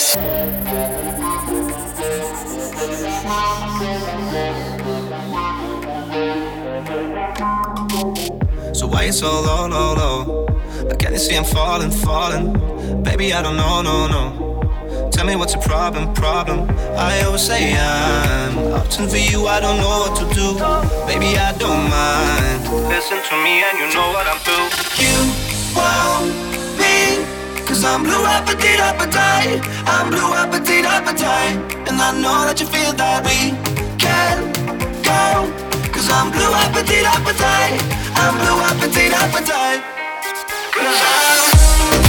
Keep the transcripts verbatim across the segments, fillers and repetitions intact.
So why you so low, low, low? Like can you see I'm falling, falling? Baby, I don't know, no, no. Tell me what's your problem, problem? I always say I'm opting for you, I don't know what to do. Baby, I don't mind. Listen to me and you know what I'm through. You want me, cause I'm blue appetite, appetite. I'm blue appetite, appetite. And I know that you feel that we can go. Cause I'm blue appetite, appetite. I'm blue appetite, appetite. Cause I'm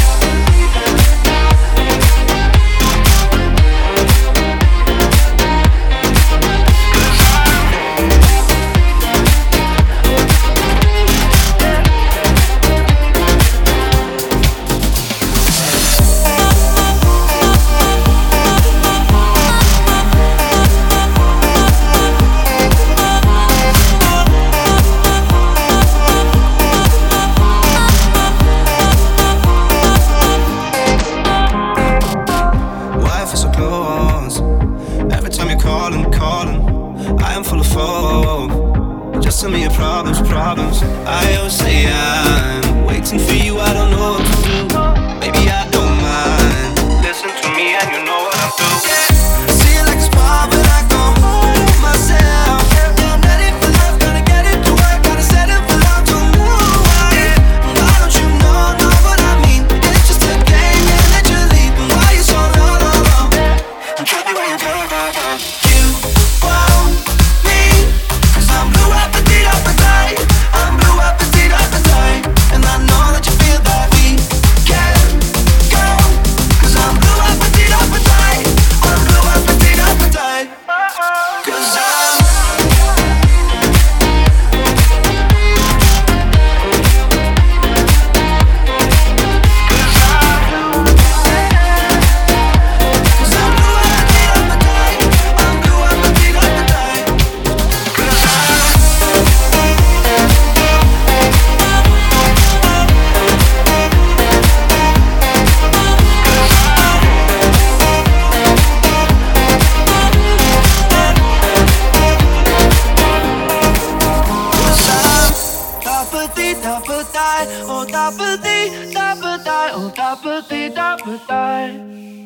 tell me your problems, problems. I always say I'm waiting for you, I don't know what to do. Baby, I don't mind. Listen to me and you know what I'm through. I see it like a spot, but I go hold myself. I'm ready for love, gotta get it to work, gotta set it for love, don't know why. Why don't you know, know what I mean? It's just a game, yeah, let you leave. And why you so low, low, low? And tell me where you go, go, go. You want me, cause I'm blue appetite, appetite. I'm blue appetite, appetite. And I know that you feel that we can go. Cause I'm blue appetite, appetite. I'm blue appetite, appetite. Cause I'm oh, da ba dee, da ba die, oh, da ba dee, da ba die.